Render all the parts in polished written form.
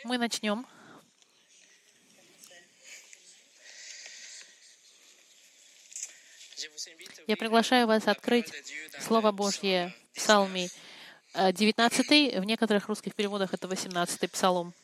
Мы начнем. Я приглашаю вас открыть Слово Божье в Псалме 19, в некоторых русских переводах это 18-й Псалом.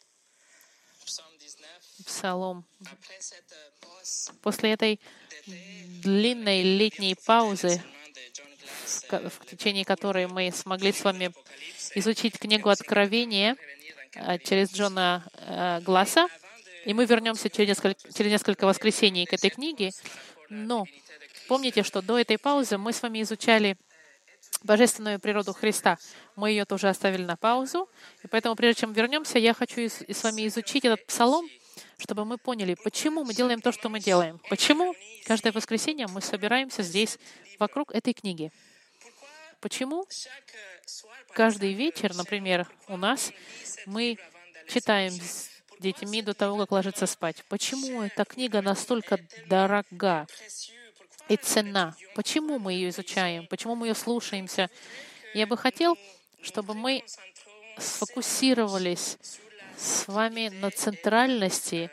Псалом. После этой длинной летней паузы, в течение которой мы смогли с вами изучить книгу Откровения через Джона Гласса, и мы вернемся через несколько воскресений к этой книге. Но помните, что до этой паузы мы с вами изучали божественную природу Христа. Мы ее тоже оставили на паузу. И поэтому, прежде чем вернемся, я хочу с вами изучить этот псалом, чтобы мы поняли, почему мы делаем то, что мы делаем. Почему каждое воскресенье мы собираемся здесь, вокруг этой книги. Почему каждый вечер, например, у нас мы читаем с детьми до того, как ложиться спать. Почему эта книга настолько дорога и ценна? Почему мы ее изучаем? Почему мы ее слушаемся? Я бы хотел, чтобы мы сфокусировались с вами на центральности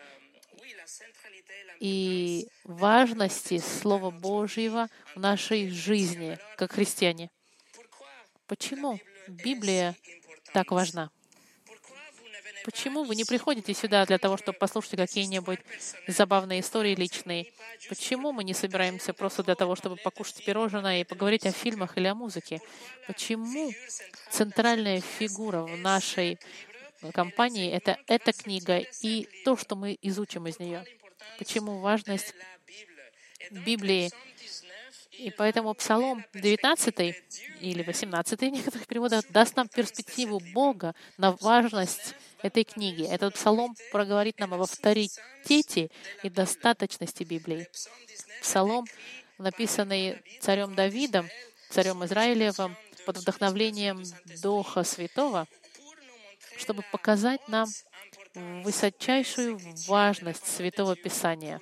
и важности Слова Божьего в нашей жизни, как христиане. Почему Библия так важна? Почему вы не приходите сюда для того, чтобы послушать какие-нибудь забавные истории личные? Почему мы не собираемся просто для того, чтобы покушать пирожное и поговорить о фильмах или о музыке? Почему центральная фигура в нашей компании — это эта книга и то, что мы изучим из нее? Почему важность Библии? И поэтому Псалом 19 или 18 в некоторых переводах даст нам перспективу Бога на важность этой книги. Этот Псалом проговорит нам об авторитете и достаточности Библии. Псалом, написанный царем Давидом, царем Израилевым, под вдохновлением Духа Святого, чтобы показать нам высочайшую важность Святого Писания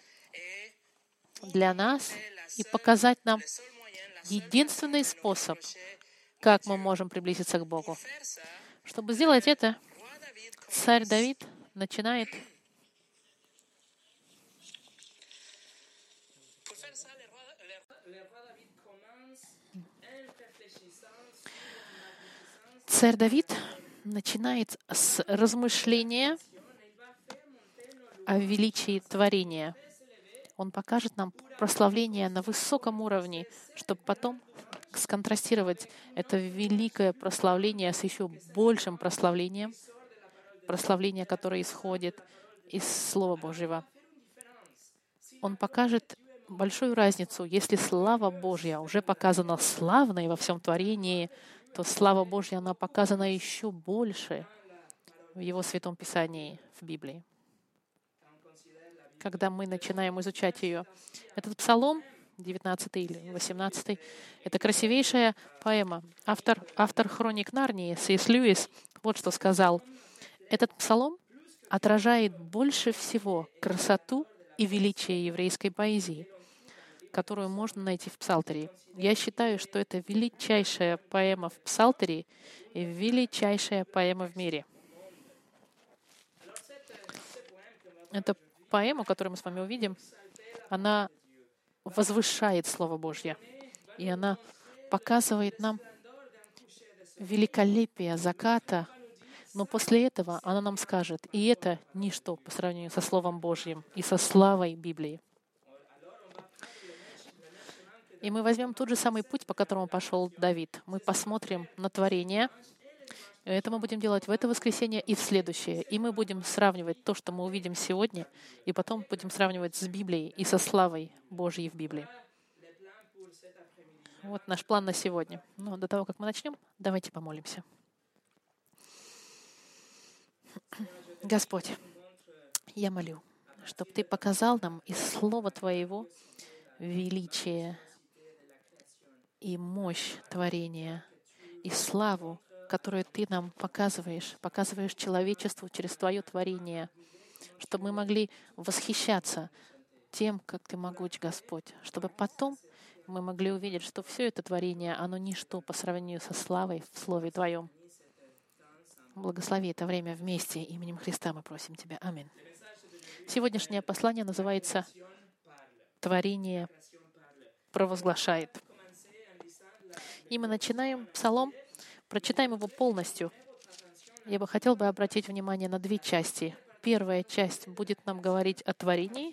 для нас и показать нам единственный способ, как мы можем приблизиться к Богу. Чтобы сделать это, царь Давид начинает с размышления о величии творения. Он покажет нам прославление на высоком уровне, чтобы потом сконтрастировать это великое прославление с еще большим прославлением, прославление, которое исходит из Слова Божьего. Он покажет большую разницу. Если слава Божья уже показана славной во всем творении, то слава Божья, она показана еще больше в Его Святом Писании, в Библии. Когда мы начинаем изучать ее. Этот псалом, 19 или 18, это красивейшая поэма. Автор «Хроник Нарнии» С.С. Льюис вот что сказал. Этот псалом отражает больше всего красоту и величие еврейской поэзии, которую можно найти в Псалтире. Я считаю, что это величайшая поэма в Псалтире и величайшая поэма в мире. Это поэму, которую мы с вами увидим, она возвышает Слово Божье, и она показывает нам великолепие заката, но после этого она нам скажет, и это ничто по сравнению со Словом Божьим и со славой Библии. И мы возьмем тот же самый путь, по которому пошел Давид. Мы посмотрим на творение. Это мы будем делать в это воскресенье и в следующее. И мы будем сравнивать то, что мы увидим сегодня, и потом будем сравнивать с Библией и со славой Божьей в Библии. Вот наш план на сегодня. Но до того, как мы начнем, давайте помолимся. Господь, я молю, чтобы Ты показал нам из Слова Твоего величие и мощь творения, и славу, которую Ты нам показываешь человечеству через Твое творение, чтобы мы могли восхищаться тем, как Ты могуч, Господь, чтобы потом мы могли увидеть, что все это творение, оно ничто по сравнению со славой в Слове Твоем. Благослови это время вместе. Именем Христа мы просим Тебя. Аминь. Сегодняшнее послание называется «Творение провозглашает». И мы начинаем псалом, прочитаем его полностью. Я бы хотел обратить внимание на две части. Первая часть будет нам говорить о творении.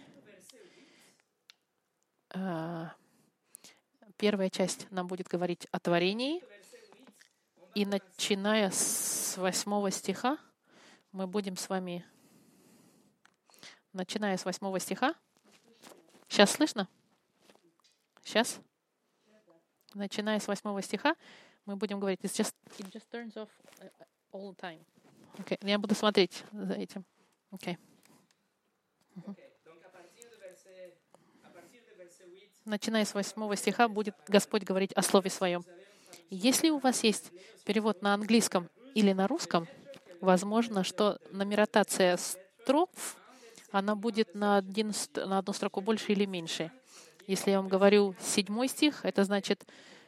Первая часть нам будет говорить о творении. И начиная с 8 стиха, мы будем с вами... Начиная с 8 стиха. Сейчас слышно? Сейчас? Начиная с 8 стиха, мы будем говорить. It just turns off all the time. Okay. Я буду смотреть за этим. Okay. Начиная с 8 стиха будет Господь говорить о Слове Своем. Если у вас есть перевод на английском или на русском, возможно, что нумерация строф, она будет на одну строку больше или меньше. Если я вам говорю 7 стих, это значит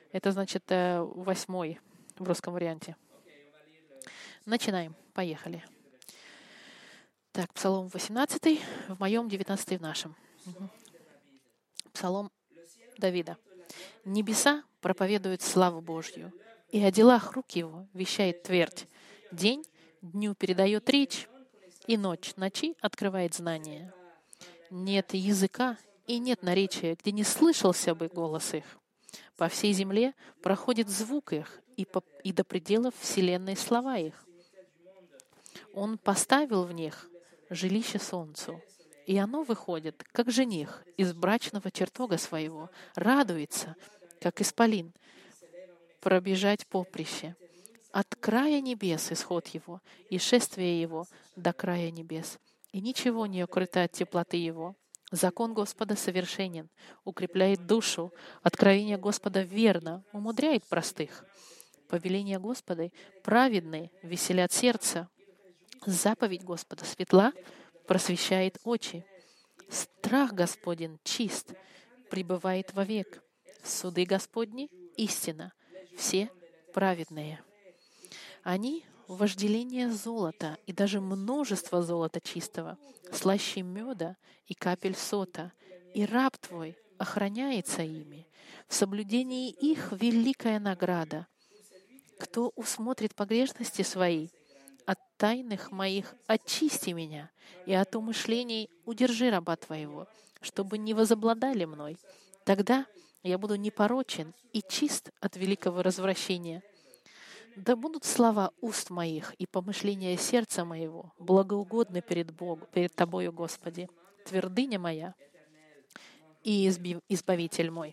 8 в русском варианте. Начинаем. Поехали. Так, Псалом 18, в моем 19 в нашем. Псалом Давида. «Небеса проповедуют славу Божью, и о делах рук его вещает твердь. День дню передает речь, и ночь ночи открывает знание. Нет языка и нет наречия, где не слышался бы голос их. По всей земле проходит звук их, и до пределов вселенной слова их. Он поставил в них жилище солнцу, и оно выходит, как жених, из брачного чертога своего, радуется, как исполин, пробежать поприще. От края небес исход его, и шествие его до края небес. И ничего не укрыто от теплоты его. Закон Господа совершенен, укрепляет душу. Откровение Господа верно, умудряет простых. Повеление Господа праведные, веселят сердце. Заповедь Господа светла, просвещает очи. Страх Господень чист, пребывает вовек. Суды Господни — истина, все праведные. Они — вожделение золота и даже множество золота чистого, слаще меда и капель сота, и раб Твой охраняется ими. В соблюдении их великая награда. Кто усмотрит погрешности свои, от тайных моих очисти меня, и от умышлений удержи раба Твоего, чтобы не возобладали мной. Тогда я буду непорочен и чист от великого развращения. Да будут слова уст моих и помышления сердца моего благоугодны перед Тобою, Господи, твердыня моя и избавитель мой».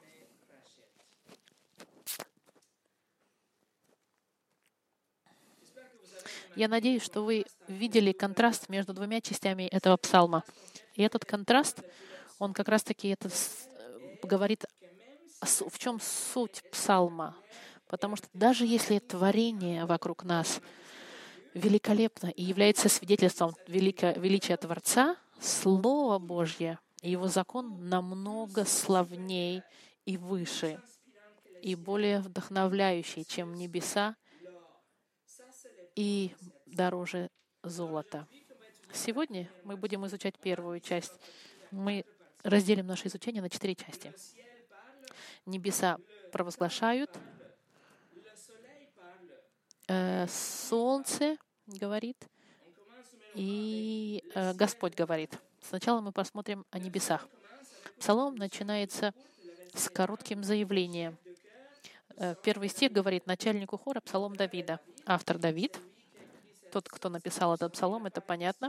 Я надеюсь, что вы видели контраст между двумя частями этого псалма. И этот контраст, он как раз-таки говорит, в чем суть псалма. Потому что даже если творение вокруг нас великолепно и является свидетельством величия Творца, Слово Божье и Его закон намного славней и выше, и более вдохновляющий, чем небеса, и дороже золота. Сегодня мы будем изучать первую часть. Мы разделим наше изучение на 4 части. Небеса провозглашают, солнце говорит, и Господь говорит. Сначала мы посмотрим о небесах. Псалом начинается с коротким заявлением. Первый стих говорит начальнику хора, псалом Давида. Автор Давид. Тот, кто написал этот псалом, это понятно.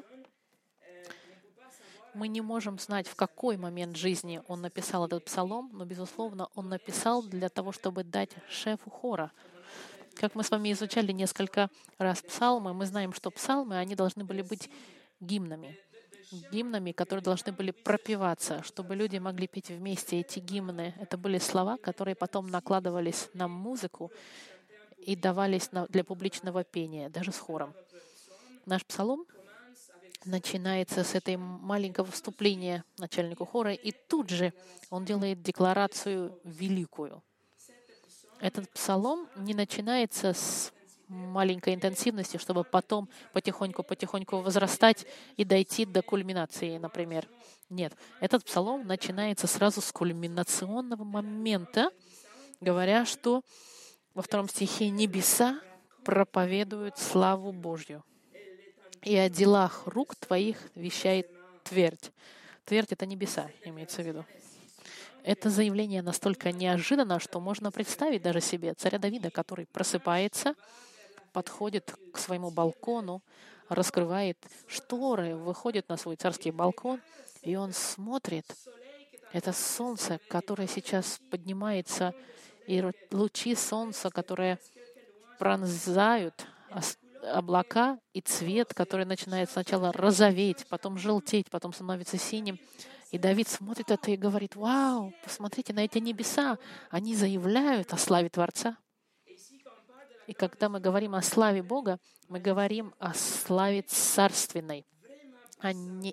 Мы не можем знать, в какой момент жизни он написал этот псалом, но, безусловно, он написал для того, чтобы дать шефу хора. Как мы с вами изучали несколько раз псалмы, мы знаем, что псалмы, они должны были быть гимнами, которые должны были пропеваться, чтобы люди могли петь вместе эти гимны. Это были слова, которые потом накладывались на музыку и давались для публичного пения, даже с хором. Наш псалом начинается с этой маленького вступления начальнику хора, и тут же он делает декларацию великую. Этот псалом не начинается с маленькой интенсивности, чтобы потом потихоньку возрастать и дойти до кульминации, например. Нет, этот псалом начинается сразу с кульминационного момента, говоря, что во 2 стихе «Небеса проповедуют славу Божью, и о делах рук твоих вещает твердь». Твердь — это небеса, имеется в виду. Это заявление настолько неожиданно, что можно представить даже себе царя Давида, который просыпается, подходит к своему балкону, раскрывает шторы, выходит на свой царский балкон, и он смотрит. Это солнце, которое сейчас поднимается, и лучи солнца, которые пронзают облака, и цвет, который начинает сначала розоветь, потом желтеть, потом становится синим. И Давид смотрит это и говорит: «Вау, посмотрите на эти небеса, они заявляют о славе Творца». И когда мы говорим о славе Бога, мы говорим о славе царственной, о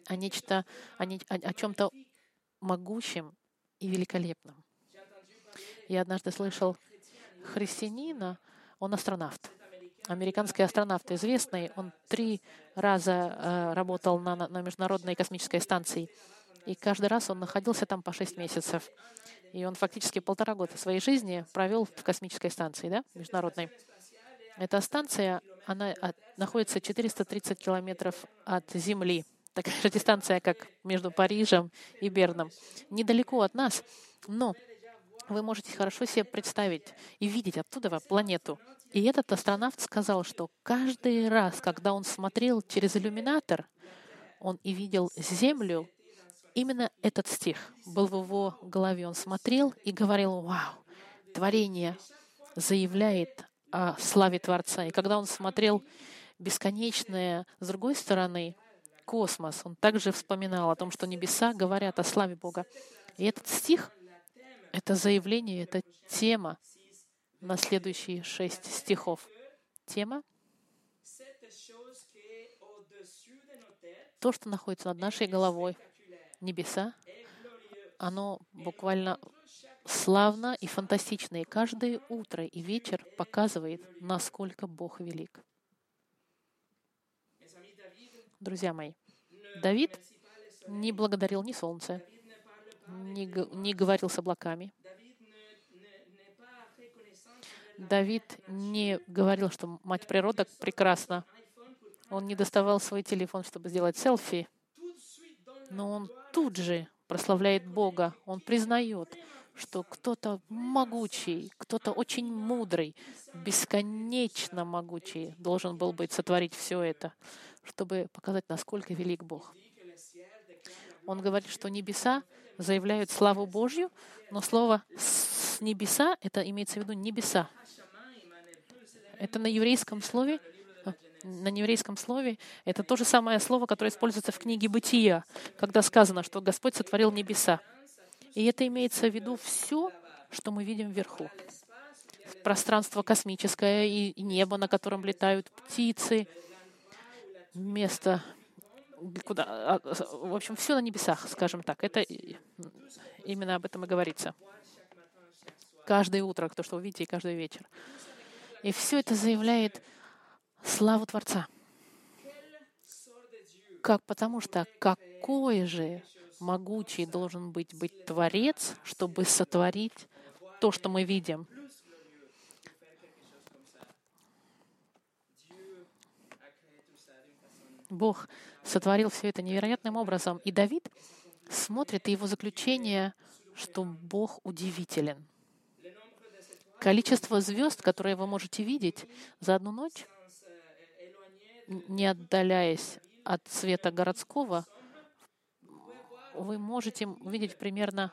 чем-то могущем и великолепном. Я однажды слышал христианина, он астронавт, американский астронавт известный, он 3 раза работал на Международной космической станции, и каждый раз он находился там по 6 месяцев. И он фактически 1,5 года своей жизни провел в космической станции, да, международной. Эта станция, она находится 430 километров от Земли. Такая же дистанция, как между Парижем и Берном. Недалеко от нас, но вы можете хорошо себе представить и видеть оттуда планету. И этот астронавт сказал, что каждый раз, когда он смотрел через иллюминатор, он и видел Землю, именно этот стих был в его голове. Он смотрел и говорил: «Вау, творение заявляет о славе Творца». И когда он смотрел бесконечное, с другой стороны, космос, он также вспоминал о том, что небеса говорят о славе Бога. И этот стих, это заявление, это тема на следующие 6 стихов. Тема — то, что находится над нашей головой, небеса, оно буквально славно и фантастично. И каждое утро и вечер показывает, насколько Бог велик. Друзья мои, Давид не благодарил ни солнце, не говорил с облаками. Давид не говорил, что мать природа прекрасна. Он не доставал свой телефон, чтобы сделать селфи. Но он тут же прославляет Бога. Он признает, что кто-то могучий, кто-то очень мудрый, бесконечно могучий должен был быть сотворить все это, чтобы показать, насколько велик Бог. Он говорит, что небеса заявляют славу Божью, но слово «с небеса» — это имеется в виду небеса. Это на еврейском слове это то же самое слово, которое используется в книге «Бытия», когда сказано, что Господь сотворил небеса. И это имеется в виду все, что мы видим вверху. Пространство космическое и небо, на котором летают птицы, место, куда... В общем, все на небесах, скажем так. Это именно об этом и говорится. Каждое утро, то, что вы видите, и каждый вечер. И все это заявляет славу Творца. Потому что какой же могучий должен быть Творец, чтобы сотворить то, что мы видим. Бог сотворил все это невероятным образом. И Давид смотрит, и его заключение, что Бог удивителен. Количество звезд, которые вы можете видеть за одну ночь, не отдаляясь от света городского, вы можете увидеть примерно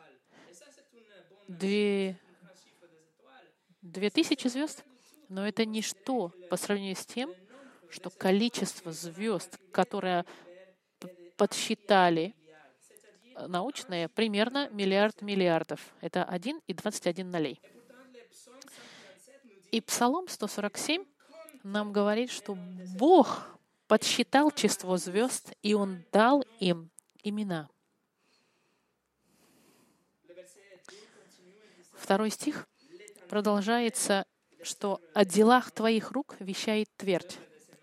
2000 звезд, но это ничто по сравнению с тем, что количество звезд, которое подсчитали научные, примерно 1 миллиард миллиардов. Это 1,21. И Псалом 147 нам говорит, что Бог подсчитал число звезд, и Он дал им имена. 2 стих продолжается что о делах твоих рук вещает твердь.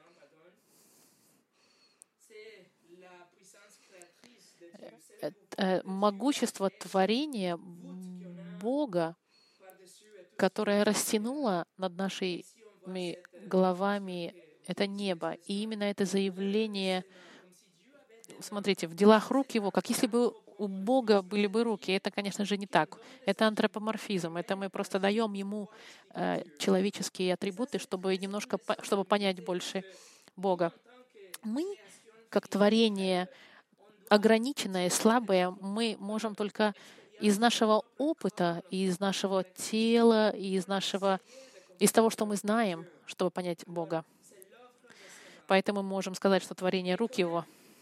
Могущество творения Бога, которое растянуло над нашими головами это небо. И именно это заявление, смотрите, в делах рук Его, как если бы у Бога были бы руки. Это, конечно же, не так. Это антропоморфизм. Это мы просто даем Ему человеческие атрибуты, чтобы немножко, чтобы понять больше Бога. Мы, как творение ограниченное, слабое, мы можем только из нашего опыта, из нашего тела, из того, что мы знаем, чтобы понять Бога. Поэтому мы можем сказать, что творение рук Его.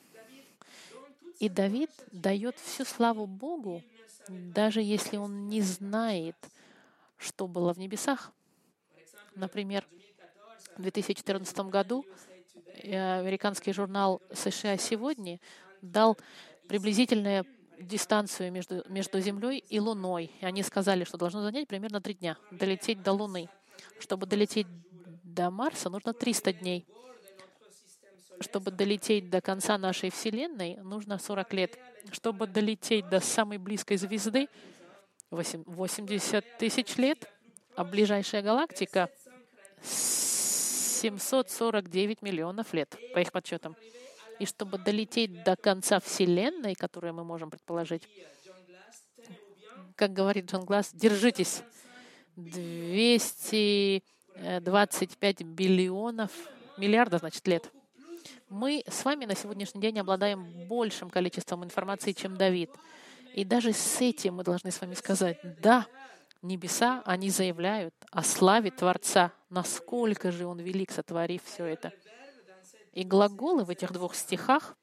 И Давид дает всю славу Богу, даже если он не знает, что было в небесах. Например, в 2014 году американский журнал «США сегодня» дал приблизительную дистанцию между Землей и Луной. И они сказали, что должно занять примерно 3 дня долететь до Луны. Чтобы долететь до Марса, нужно 300 дней. Чтобы долететь до конца нашей Вселенной, нужно 40 лет. Чтобы долететь до самой близкой звезды, 80 тысяч лет, а ближайшая галактика — 749 миллионов лет, по их подсчетам. И чтобы долететь до конца Вселенной, которую мы можем предположить, как говорит Джон Гласс, держитесь, 225 миллиардов, значит, лет. Мы с вами на сегодняшний день обладаем большим количеством информации, чем Давид. И даже с этим мы должны с вами сказать, да, небеса, они заявляют о славе Творца, насколько же Он велик, сотворив все это. И глаголы в этих 2 стихах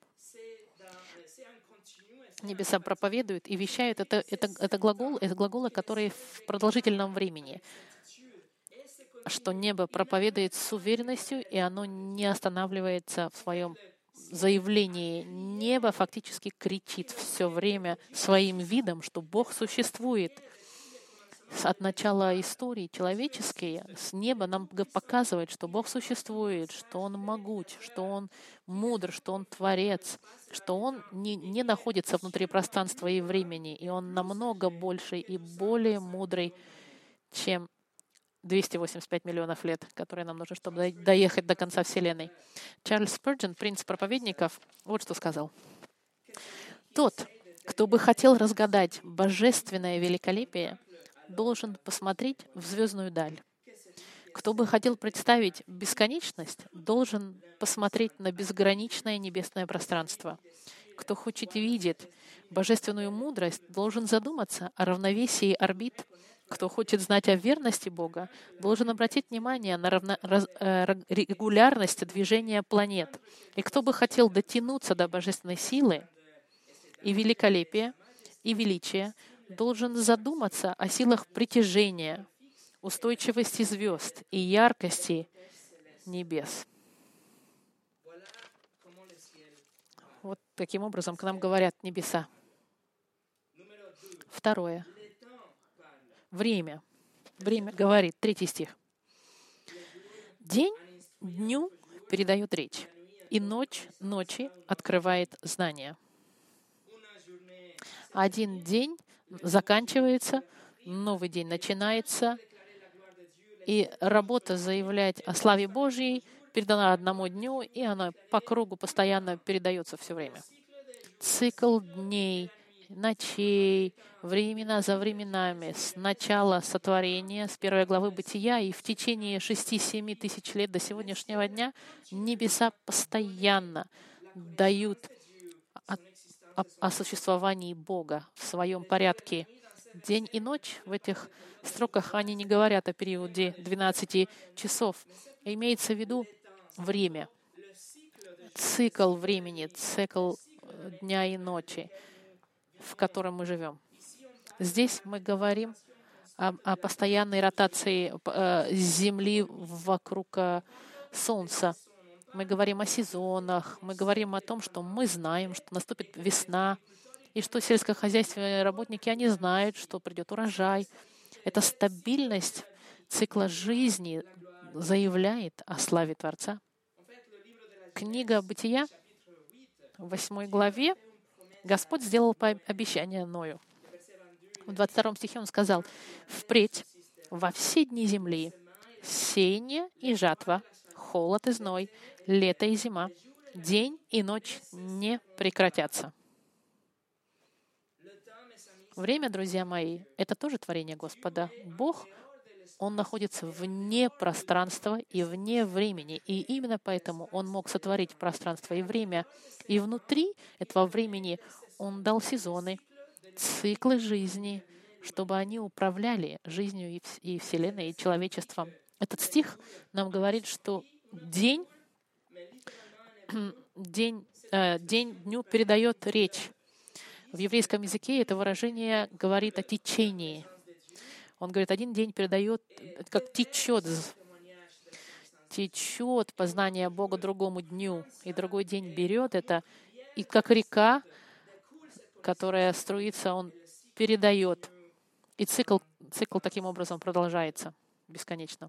небеса проповедуют и вещают. Это глаголы, которые в продолжительном времени, что небо проповедует с уверенностью, и оно не останавливается в своем заявлении. Небо фактически кричит все время своим видом, что Бог существует. От начала истории человеческой с неба нам показывает, что Бог существует, что Он могуч, что Он мудр, что Он творец, что Он не находится внутри пространства и времени, и Он намного больше и более мудрый, чем 285 миллионов лет, которые нам нужны, чтобы доехать до конца Вселенной. Чарльз Спurgeon, принц проповедников, вот что сказал. «Тот, кто бы хотел разгадать божественное великолепие, должен посмотреть в звездную даль. Кто бы хотел представить бесконечность, должен посмотреть на безграничное небесное пространство. Кто хочет видеть божественную мудрость, должен задуматься о равновесии орбит. Кто хочет знать о верности Бога, должен обратить внимание на регулярность движения планет. И кто бы хотел дотянуться до божественной силы и великолепия, и величия, должен задуматься о силах притяжения, устойчивости звезд и яркости небес». Вот таким образом к нам говорят небеса. Второе. Время. Время говорит, 3 стих. «День дню передает речь, и ночь ночи открывает знания». Один день заканчивается, новый день начинается, и работа заявлять о славе Божьей передана одному дню, и она по кругу постоянно передается все время. Цикл дней, ночей, времена за временами, с начала сотворения, с 1 главы Бытия, и в течение 6-7 тысяч лет до сегодняшнего дня небеса постоянно дают о существовании Бога в своем порядке. День и ночь в этих строках, они не говорят о периоде 12 часов. Имеется в виду время, цикл времени, цикл дня и ночи, в котором мы живем. Здесь мы говорим о постоянной ротации Земли вокруг Солнца. Мы говорим о сезонах, мы говорим о том, что мы знаем, что наступит весна, и что сельскохозяйственные работники, они знают, что придет урожай. Это стабильность цикла жизни заявляет о славе Творца. Книга Бытия, в 8 главе, Господь сделал обещание Ною. В 22 стихе Он сказал: «Впредь во все дни земли сеяние и жатва, холод и зной, лето и зима, день и ночь не прекратятся». Время, друзья мои, это тоже творение Господа. Бог, Он находится вне пространства и вне времени. И именно поэтому Он мог сотворить пространство и время. И внутри этого времени Он дал сезоны, циклы жизни, чтобы они управляли жизнью и Вселенной, и человечеством. Этот стих нам говорит, что день дню передает речь. В еврейском языке это выражение говорит о течении. Он говорит, один день передает, как течет познание Бога другому дню, и другой день берет это, и как река, которая струится, он передает. И цикл таким образом продолжается бесконечно.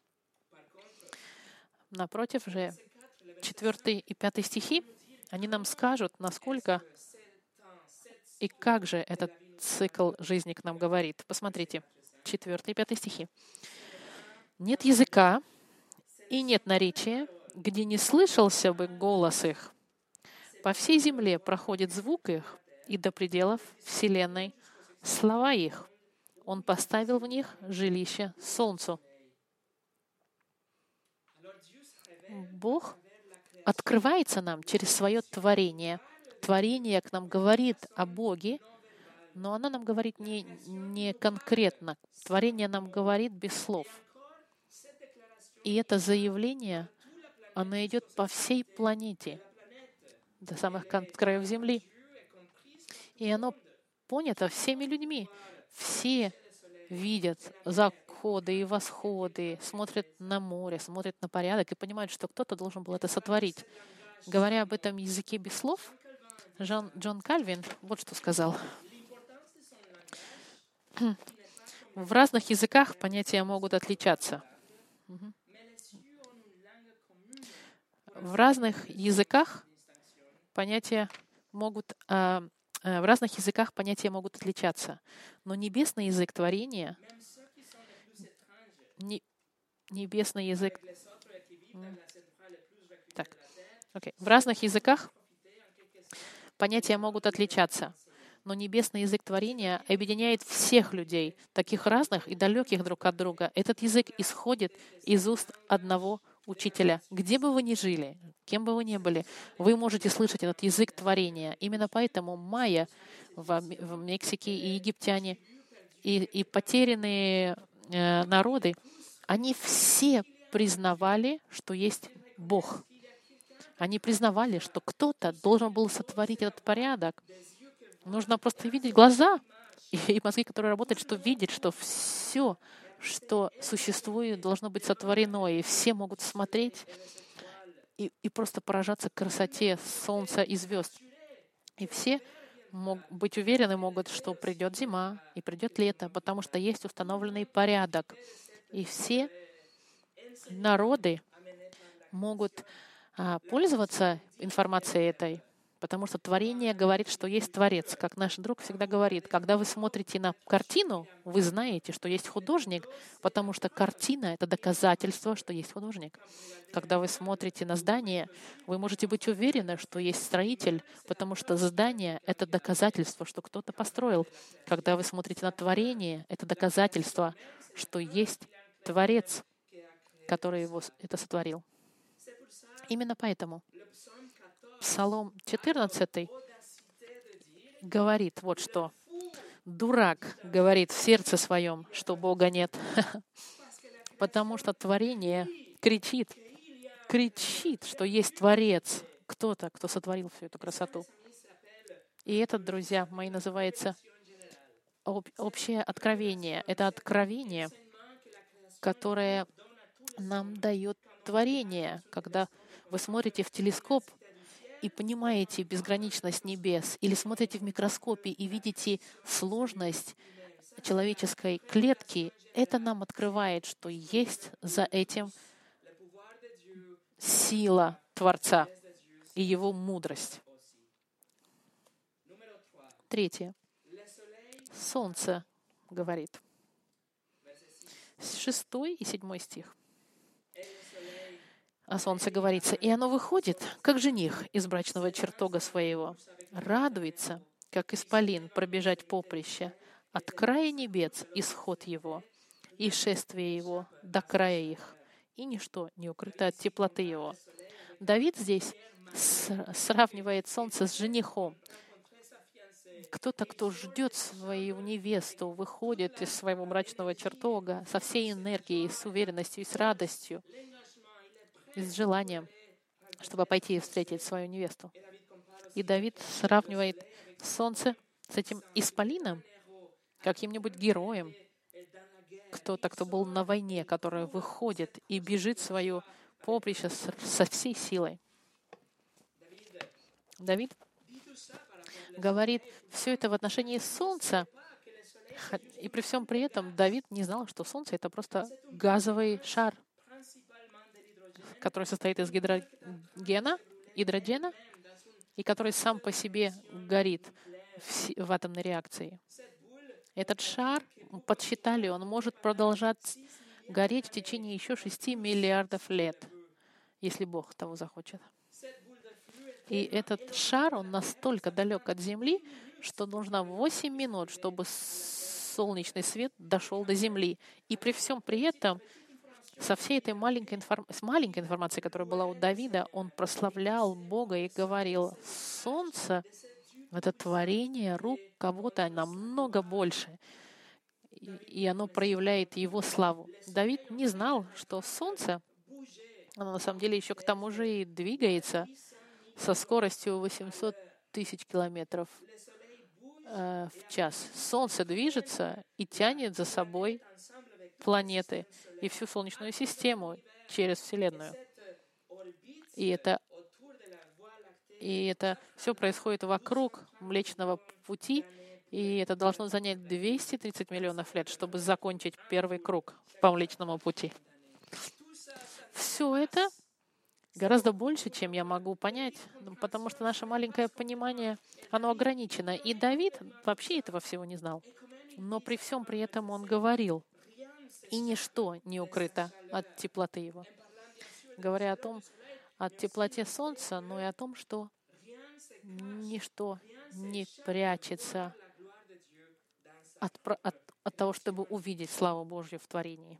Напротив же, 4 и 5 стихи, они нам скажут, насколько и как же этот цикл жизни к нам говорит. Посмотрите, 4 и 5 стихи. «Нет языка и нет наречия, где не слышался бы голос их. По всей земле проходит звук их, и до пределов вселенной слова их. Он поставил в них жилище солнцу». Бог открывается нам через свое творение. Творение к нам говорит о Боге, но оно нам говорит не конкретно. Творение нам говорит без слов. И это заявление, оно идет по всей планете, до самых краев Земли. И оно понято всеми людьми. Все видят заходы и восходы, смотрят на море, смотрят на порядок и понимают, что кто-то должен был это сотворить. Говоря об этом языке без слов, Джон Кальвин вот что сказал. В разных языках понятия могут отличаться. В разных языках понятия могут отличаться. Но небесный язык творения, небесный язык... В разных языках понятия могут отличаться, но небесный язык творения объединяет всех людей, таких разных и далеких друг от друга. Этот язык исходит из уст одного учителя. Где бы вы ни жили, кем бы вы ни были, вы можете слышать этот язык творения. Именно поэтому майя в Мексике и египтяне, и потерянные народы, они все признавали, что есть Бог. Они признавали, что кто-то должен был сотворить этот порядок. Нужно просто видеть глаза и мозги, которые работают, чтобы видеть, что все, что существует, должно быть сотворено. И все могут смотреть и просто поражаться красоте солнца и звезд. И все могут быть уверены, что придет зима и придет лето, потому что есть установленный порядок. И все народы могут пользоваться информацией этой, потому что творение говорит, что есть Творец. Как наш друг всегда говорит, когда вы смотрите на картину, вы знаете, что есть художник, потому что картина — это доказательство, что есть художник. Когда вы смотрите на здание, вы можете быть уверены, что есть строитель, потому что здание — это доказательство, что кто-то построил. Когда вы смотрите на творение, это доказательство, что есть Творец, который это сотворил. Именно поэтому Псалом 14 говорит вот что. «Дурак говорит в сердце своем, что Бога нет». Потому что творение кричит, что есть Творец, кто-то, кто сотворил всю эту красоту. И это, друзья мои, называется общее откровение. Это откровение, которое нам дает творение, когда вы смотрите в телескоп и понимаете безграничность небес, или смотрите в микроскопе и видите сложность человеческой клетки, это нам открывает, что есть за этим сила Творца и Его мудрость. Третье. Солнце говорит. 6 и 7 стих. О солнце говорится, и оно выходит, как жених из брачного чертога своего, радуется, как исполин пробежать поприще, от края небес исход его, и шествие его до края их, и ничто не укрыто от теплоты его. Давид здесь сравнивает солнце с женихом. Кто-то, кто ждет свою невесту, выходит из своего мрачного чертога со всей энергией, с уверенностью и с радостью, и с желанием, чтобы пойти и встретить свою невесту. И Давид сравнивает солнце с этим исполином, каким-нибудь героем, кто-то, кто был на войне, который выходит и бежит в свое поприще со всей силой. Давид говорит все это в отношении солнца, и при всем при этом Давид не знал, что солнце — это просто газовый шар, который состоит из гидрогена, и который сам по себе горит в атомной реакции. Этот шар, подсчитали, он может продолжать гореть в течение еще 6 миллиардов лет, если Бог того захочет. И этот шар, он настолько далек от Земли, что нужно 8 минут, чтобы солнечный свет дошел до Земли. И при всем при этом, со всей этой маленькой информацией, которая была у Давида, он прославлял Бога и говорил: солнце — это творение рук кого-то намного больше, и оно проявляет Его славу. Давид не знал, что солнце, оно на самом деле еще к тому же и двигается со скоростью 800 тысяч километров в час. Солнце движется и тянет за собой планеты и всю Солнечную систему через Вселенную. И это все происходит вокруг Млечного Пути, и это должно занять 230 миллионов лет, чтобы закончить первый круг по Млечному Пути. Все это гораздо больше, чем я могу понять, потому что наше маленькое понимание, оно ограничено. И Давид вообще этого всего не знал. Но при всем при этом он говорил, и ничто не укрыто от теплоты его. Говоря от теплоте солнца, но и о том, что ничто не прячется от того, чтобы увидеть славу Божью в творении.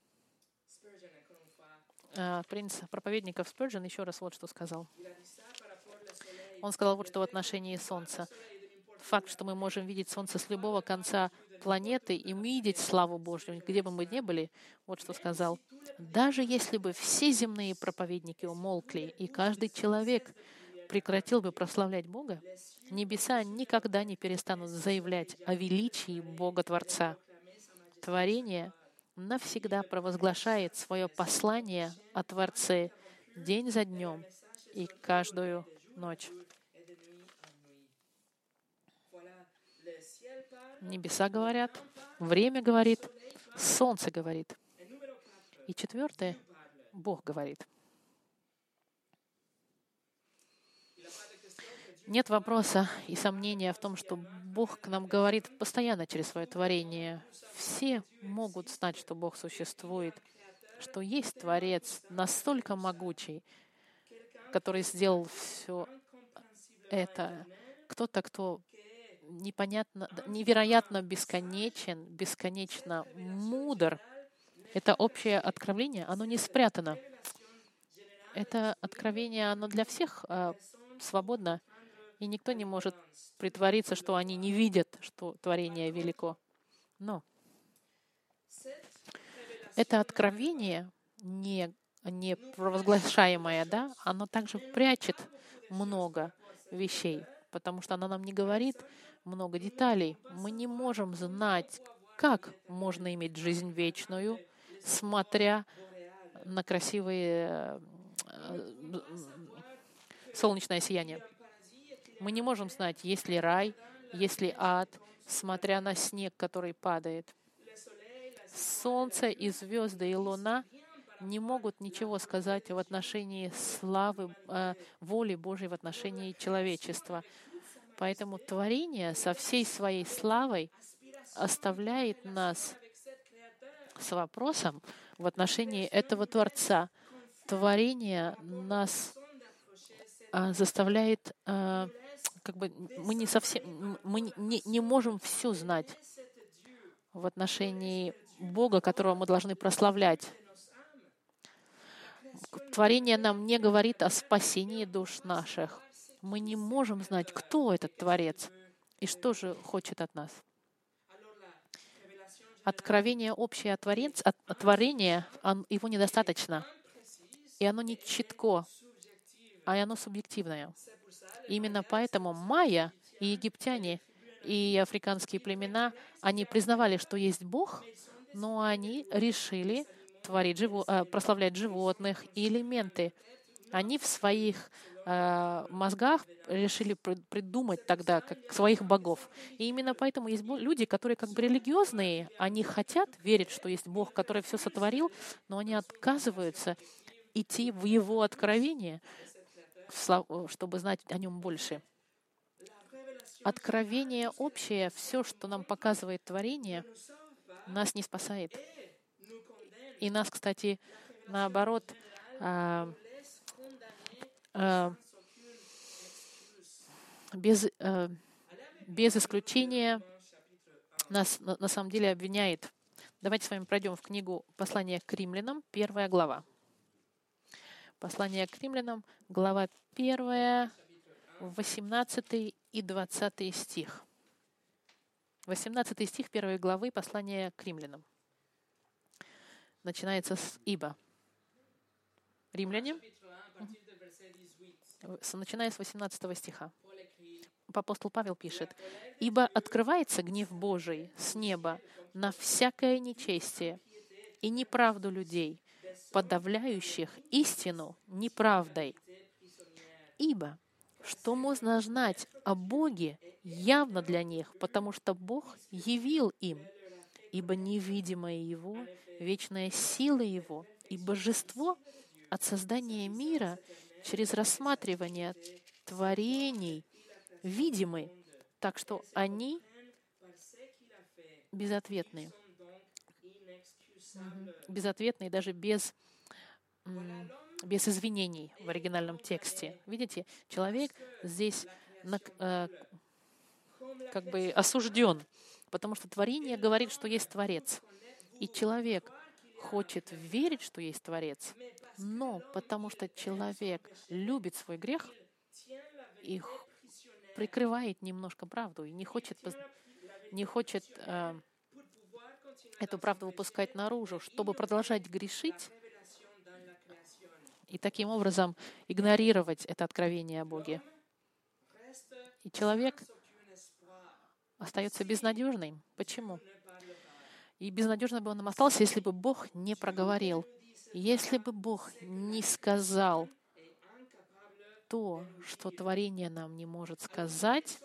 Принц проповедников Спurgeon еще раз вот что сказал. Он сказал вот что в отношении Солнца. Факт, что мы можем видеть Солнце с любого конца планеты и видеть славу Божью, где бы мы ни были, вот что сказал. Даже если бы все земные проповедники умолкли, и каждый человек прекратил бы прославлять Бога, небеса никогда не перестанут заявлять о величии Бога-Творца. Творение навсегда провозглашает свое послание о Творце день за днем и каждую ночь. Небеса говорят, время говорит, солнце говорит. И 4, Бог говорит. Нет вопроса и сомнения в том, что Бог к нам говорит постоянно через свое творение. Все могут знать, что Бог существует, что есть Творец настолько могучий, который сделал все это. Кто-то, кто невероятно бесконечен, бесконечно мудр. Это общее откровение, оно не спрятано. Это откровение, оно для всех свободно, и никто не может притвориться, что они не видят, что творение велико. Но это откровение, не провозглашаемое, да, оно также прячет много вещей, потому что оно нам не говорит много деталей. Мы не можем знать, как можно иметь жизнь вечную, смотря на красивые солнечное сияние. Мы не можем знать, есть ли рай, есть ли ад, смотря на снег, который падает. Солнце и звезды и луна не могут ничего сказать в отношении славы, воли Божьей в отношении человечества. Поэтому творение со всей своей славой оставляет нас с вопросом в отношении этого Творца. Творение нас заставляет, мы не совсем, мы не можем все знать в отношении Бога, которого мы должны прославлять. Творение нам не говорит о спасении душ наших. Мы не можем знать, кто этот Творец и что же хочет от нас. Откровение общее о творении, его недостаточно. И оно не четко, а оно субъективное. Именно поэтому майя и египтяне и африканские племена, они признавали, что есть Бог, но они решили прославлять животных и элементы. Они в своих мозгах решили придумать тогда как своих богов. И именно поэтому есть люди, которые как бы религиозные, они хотят верить, что есть Бог, который все сотворил, но они отказываются идти в Его откровение, чтобы знать о Нем больше. Откровение общее, все, что нам показывает творение, нас не спасает. И нас, кстати, наоборот, без исключения нас на самом деле обвиняет. Давайте с вами пройдем в книгу «Послание к римлянам», 1 глава. Послание к римлянам, глава 1, 18 и 20 стих. 18 стих 1 главы послания к римлянам. Начинается с «Ибо». Римляне, начиная с 18 стиха. Апостол Павел пишет: «Ибо открывается гнев Божий с неба на всякое нечестие и неправду людей, подавляющих истину неправдой. Ибо что можно знать о Боге явно для них, потому что Бог явил им, ибо невидимое Его, вечная сила Его и божество от создания мира через рассматривание творений видимы, так что они безответны. Безответны даже без извинений в оригинальном тексте. Видите, человек здесь как бы осужден, потому что творение говорит, что есть Творец. И человек хочет верить, что есть Творец, но потому что человек любит свой грех и прикрывает немножко правду и не хочет эту правду выпускать наружу, чтобы продолжать грешить и таким образом игнорировать это откровение о Боге. И человек остается безнадежным. Почему? И безнадежным бы он остался, если бы Бог не проговорил. Если бы Бог не сказал то, что творение нам не может сказать,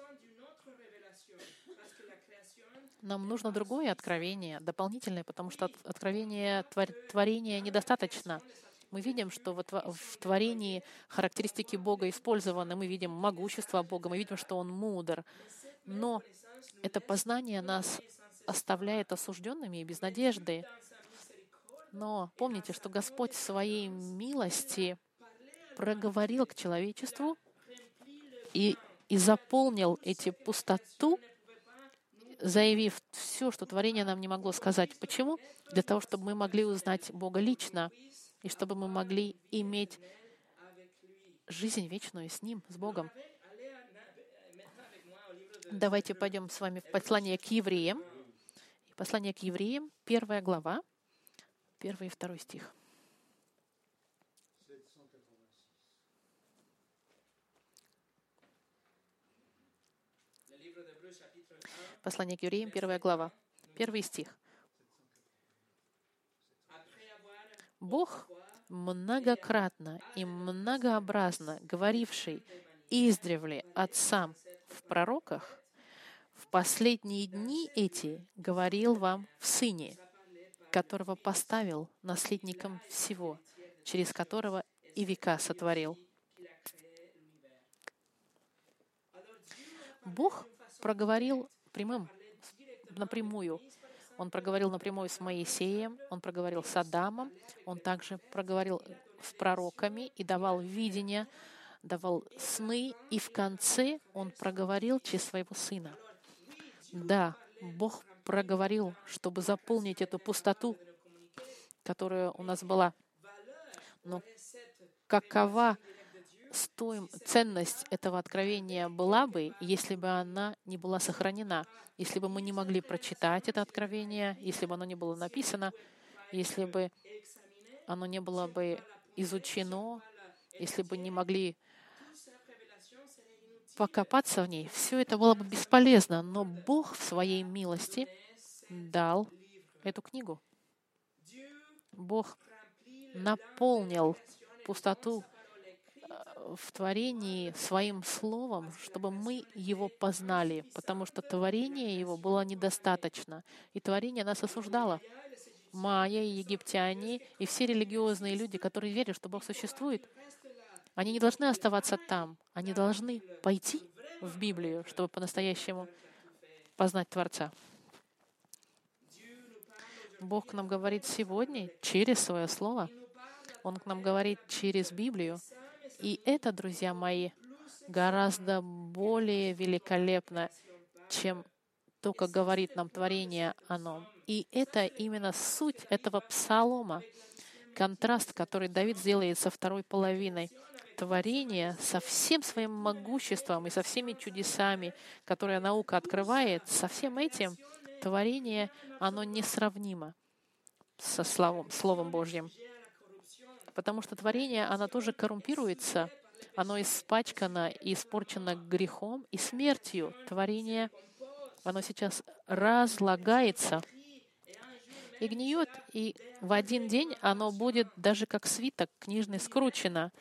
нам нужно другое откровение, дополнительное, потому что откровение творения недостаточно. Мы видим, что в творении характеристики Бога использованы. Мы видим могущество Бога, мы видим, что Он мудр. Но это познание нас оставляет осужденными и без надежды. Но помните, что Господь в Своей милости проговорил к человечеству и заполнил эти пустоту, заявив все, что творение нам не могло сказать. Почему? Для того, чтобы мы могли узнать Бога лично, и чтобы мы могли иметь жизнь вечную с Ним, с Богом. Давайте пойдем с вами в послание к евреям. Послание к евреям, 1 глава, 1 и 2 стих. Послание к евреям, 1 глава, 1 стих. «Бог, многократно и многообразно говоривший издревле отцам в пророках, в последние дни эти говорил вам в Сыне, которого поставил наследником всего, через которого и века сотворил. Бог проговорил напрямую. Он проговорил напрямую с Моисеем, Он проговорил с Адамом, Он также проговорил с пророками и давал видения, давал сны, и в конце Он проговорил через Своего Сына. Да, Бог проговорил, чтобы заполнить эту пустоту, которая у нас была. Но какова ценность этого откровения была бы, если бы она не была сохранена, если бы мы не могли прочитать это откровение, если бы оно не было написано, если бы оно не было бы изучено, если бы не могли покопаться в ней, все это было бы бесполезно. Но Бог в Своей милости дал эту книгу. Бог наполнил пустоту в творении Своим Словом, чтобы мы Его познали, потому что творение Его было недостаточно, и творение нас осуждало. Майя и египтяне, и все религиозные люди, которые верят, что Бог существует, они не должны оставаться там, они должны пойти в Библию, чтобы по-настоящему познать Творца. Бог к нам говорит сегодня через Свое Слово, Он к нам говорит через Библию, и это, друзья мои, гораздо более великолепно, чем то, как говорит нам творение оно. И это именно суть этого псалома, контраст, который Давид сделает со второй половиной. Творение со всем своим могуществом и со всеми чудесами, которые наука открывает, со всем этим творение, оно несравнимо со Словом Божьим. Потому что творение, оно тоже коррумпируется, оно испачкано и испорчено грехом и смертью. Творение, оно сейчас разлагается и гниет, и в один день оно будет даже как свиток книжный скручено.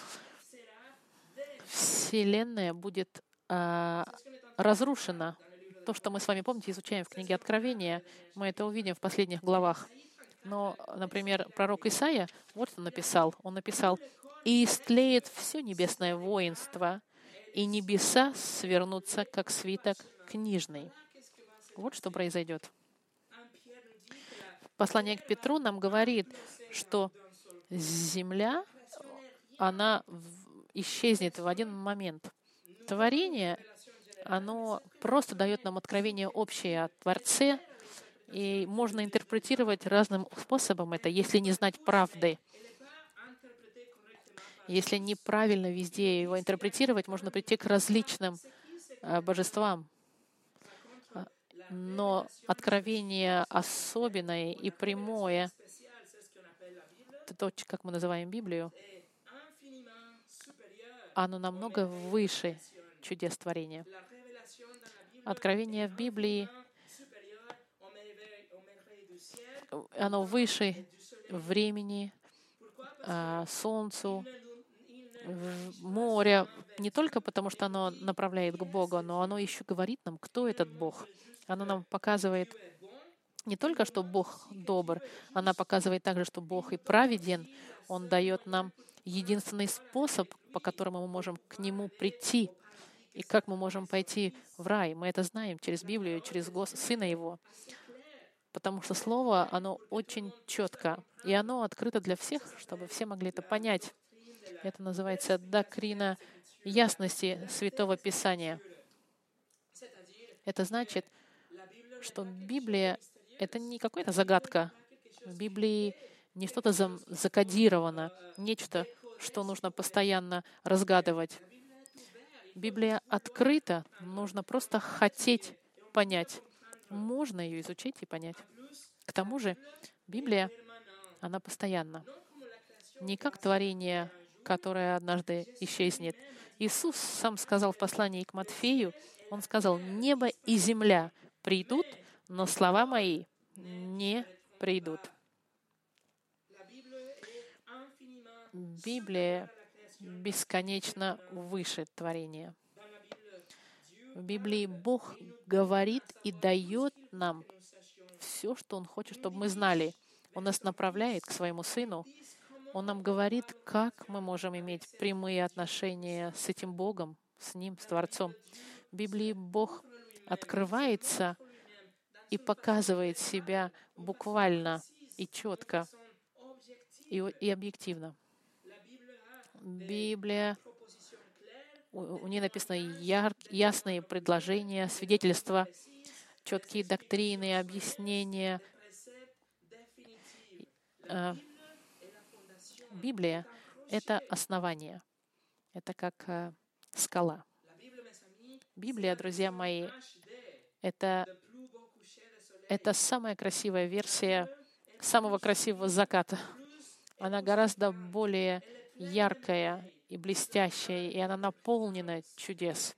Вселенная будет разрушена. То, что мы с вами, помните, изучаем в книге Откровения, мы это увидим в последних главах. Но, например, пророк Исаия, вот что написал. Он написал: «И истлеет все небесное воинство, и небеса свернутся, как свиток книжный». Вот что произойдет. Послание к Петру нам говорит, что земля, она исчезнет в один момент. Творение, оно просто дает нам откровение общее о Творце, и можно интерпретировать разным способом это, если не знать правды. Если неправильно везде его интерпретировать, можно прийти к различным божествам. Но откровение особенное и прямое, то, как мы называем Библию, оно намного выше чудес творения. Откровение в Библии, оно выше времени, солнцу, моря, не только потому, что оно направляет к Богу, но оно еще говорит нам, кто этот Бог. Оно нам показывает не только, что Бог добр, она показывает также, что Бог и праведен. Он дает нам единственный способ, по которому мы можем к Нему прийти, и как мы можем пойти в рай. Мы это знаем через Библию, через Сына Его. Потому что Слово, оно очень четко, и оно открыто для всех, чтобы все могли это понять. Это называется доктрина ясности Святого Писания. Это значит, что Библия — это не какая-то загадка. В Библии не что-то закодировано, нечто, что нужно постоянно разгадывать. Библия открыта, нужно просто хотеть понять. Можно ее изучить и понять. К тому же Библия, она постоянна. Не как творение, которое однажды исчезнет. Иисус сам сказал в послании к Матфею, Он сказал: «Небо и земля придут, но слова мои не придут». Библия бесконечно выше творения. В Библии Бог говорит и дает нам все, что Он хочет, чтобы мы знали. Он нас направляет к Своему Сыну. Он нам говорит, как мы можем иметь прямые отношения с этим Богом, с Ним, с Творцом. В Библии Бог открывается и показывает себя буквально и четко, и объективно. Библия, у нее написано ясные предложения, свидетельства, четкие доктрины, объяснения. Библия — это основание, это как скала. Библия, друзья мои, это самая красивая версия самого красивого заката. Она гораздо более яркая и блестящая, и она наполнена чудес.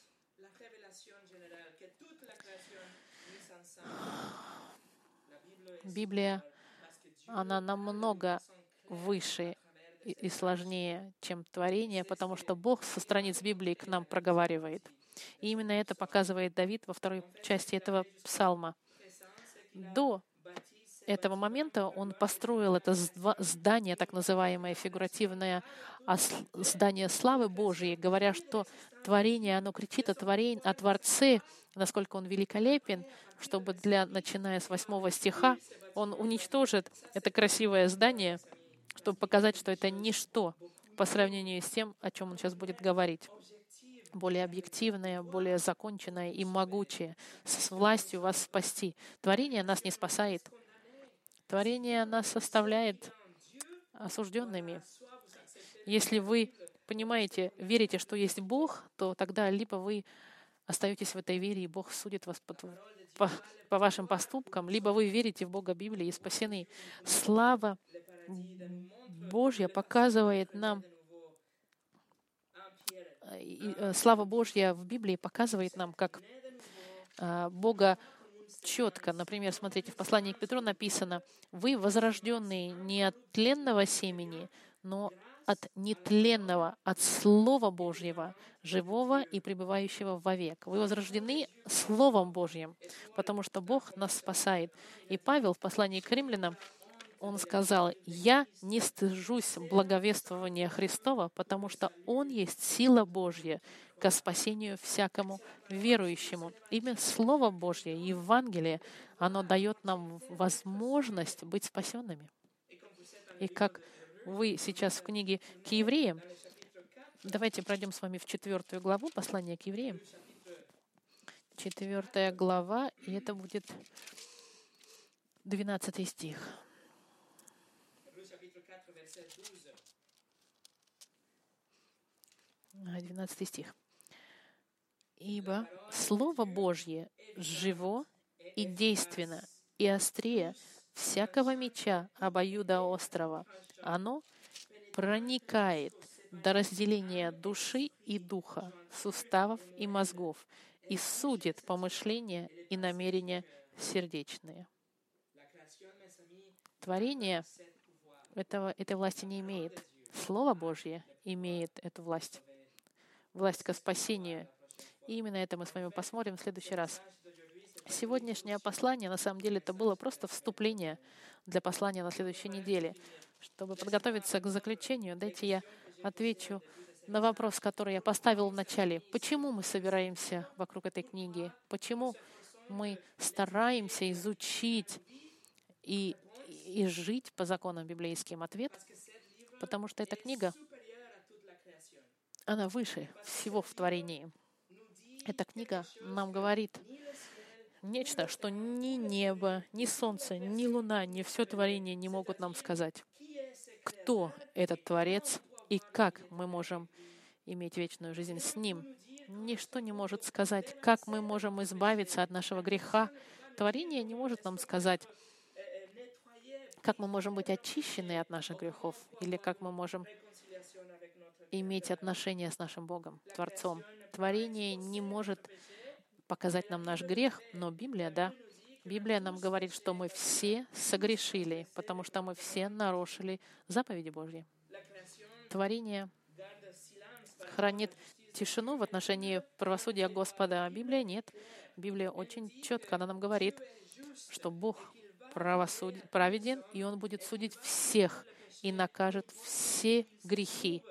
Библия, она намного выше и сложнее, чем творение, потому что Бог со страниц Библии к нам проговаривает. И именно это показывает Давид во второй части этого псалма. До этого момента он построил это здание, так называемое фигуративное здание славы Божьей, говоря, что творение, оно кричит о Творце, насколько он великолепен, чтобы начиная с 8 стиха, он уничтожит это красивое здание, чтобы показать, что это ничто по сравнению с тем, о чем он сейчас будет говорить. Более объективное, более законченное и могучее, с властью вас спасти. Творение нас не спасает. Творение нас оставляет осужденными. Если вы понимаете, верите, что есть Бог, то тогда либо вы остаетесь в этой вере, и Бог судит вас по вашим поступкам, либо вы верите в Бога Библии и спасены. Слава Божья показывает нам, слава Божья в Библии показывает нам, как Бога четко. Например, смотрите, в послании к Петру написано: «Вы возрожденные не от тленного семени, но от нетленного, от Слова Божьего, живого и пребывающего вовек». Вы возрождены Словом Божьим, потому что Бог нас спасает. И Павел в послании к римлянам, он сказал: «Я не стыжусь благовествования Христова, потому что Он есть сила Божья ко спасению всякому верующему». Имя Слово Божье, Евангелие, оно дает нам возможность быть спасенными. И как вы сейчас в книге к евреям, давайте пройдем с вами в 4 главу послания к евреям. 4 глава, и это будет 12 стих. 12 стих. «Ибо Слово Божье живо и действенно, и острее всякого меча обоюдоострого. Оно проникает до разделения души и духа, суставов и мозгов, и судит помышления и намерения сердечные». Творение этой власти не имеет. Слово Божье имеет эту власть. Власть ко спасению. И именно это мы с вами посмотрим в следующий раз. Сегодняшнее послание, на самом деле, это было просто вступление для послания на следующей неделе. Чтобы подготовиться к заключению, дайте я отвечу на вопрос, который я поставил в начале. Почему мы собираемся вокруг этой книги? Почему мы стараемся изучить и жить по законам библейским? Ответ — потому что эта книга, она выше всего в творении. Эта книга нам говорит нечто, что ни небо, ни солнце, ни луна, ни все творение не могут нам сказать. Кто этот Творец и как мы можем иметь вечную жизнь с Ним? Ничто не может сказать, как мы можем избавиться от нашего греха. Творение не может нам сказать, как мы можем быть очищены от наших грехов, или как мы можем иметь отношения с нашим Богом, Творцом. Творение не может показать нам наш грех, но Библия, да. Библия нам говорит, что мы все согрешили, потому что мы все нарушили заповеди Божьи. Творение хранит тишину в отношении правосудия Господа, а Библия нет. Библия очень четко, она нам говорит, что Бог праведен, и Он будет судить всех и накажет все грехи.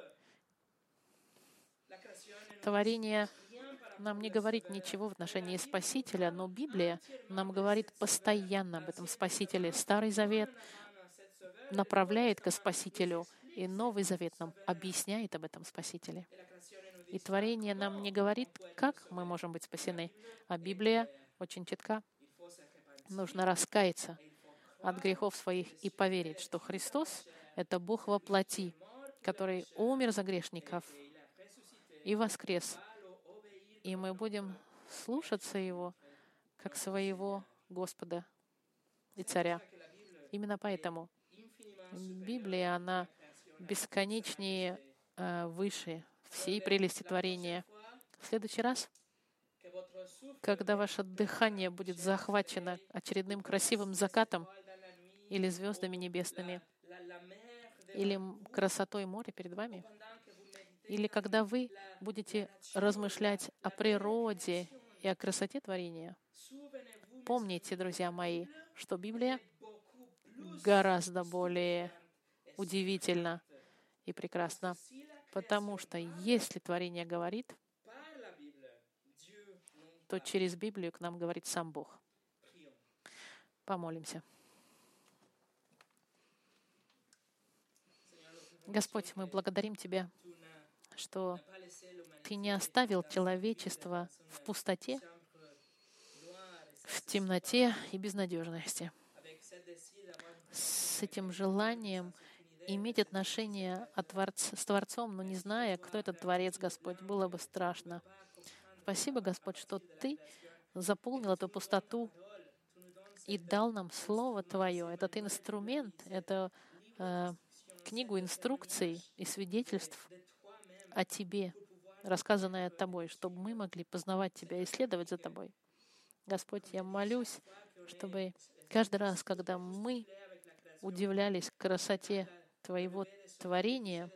Творение нам не говорит ничего в отношении Спасителя, но Библия нам говорит постоянно об этом Спасителе. Старый Завет направляет к Спасителю, и Новый Завет нам объясняет об этом Спасителе. И творение нам не говорит, как мы можем быть спасены, а Библия очень четка. Нужно раскаяться от грехов своих и поверить, что Христос — это Бог во плоти, который умер за грешников и воскрес. И мы будем слушаться Его как своего Господа и Царя. Именно поэтому Библия, она бесконечнее, выше всей прелести творения. В следующий раз, когда ваше дыхание будет захвачено очередным красивым закатом или звездами небесными, или красотой моря перед вами, или когда вы будете размышлять о природе и о красоте творения, помните, друзья мои, что Библия гораздо более удивительна и прекрасна, потому что если творение говорит, то через Библию к нам говорит сам Бог. Помолимся. Господь, мы благодарим Тебя, что Ты не оставил человечество в пустоте, в темноте и безнадежности. С этим желанием иметь отношение с Творцом, но не зная, кто этот Творец, Господь, было бы страшно. Спасибо, Господь, что Ты заполнил эту пустоту и дал нам Слово Твое. Этот инструмент, это книгу инструкций и свидетельств о Тебе, рассказанное Тобой, чтобы мы могли познавать Тебя и следовать за Тобой. Господь, я молюсь, чтобы каждый раз, когда мы удивлялись красоте Твоего творения,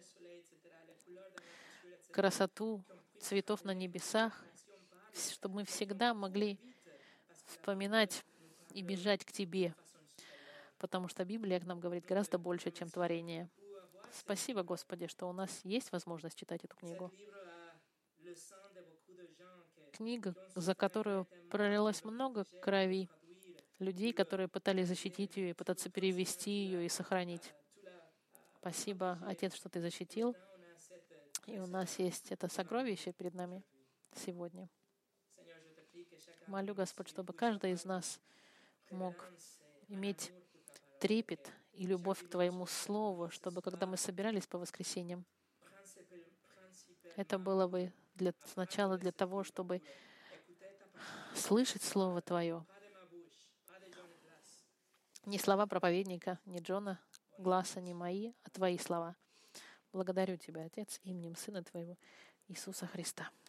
красоту цветов на небесах, чтобы мы всегда могли вспоминать и бежать к Тебе, потому что Библия к нам говорит гораздо больше, чем творение. Спасибо, Господи, что у нас есть возможность читать эту книгу. Книга, за которую пролилось много крови людей, которые пытались защитить ее и пытаться перевести ее и сохранить. Спасибо, Отец, что Ты защитил. И у нас есть это сокровище перед нами сегодня. Молю, Господь, чтобы каждый из нас мог иметь трепет и любовь к Твоему Слову, чтобы, когда мы собирались по воскресеньям, это было бы сначала для того, чтобы слышать Слово Твое. Не слова проповедника, не Джона Гласса, не мои, а Твои слова. Благодарю Тебя, Отец, именем Сына Твоего, Иисуса Христа.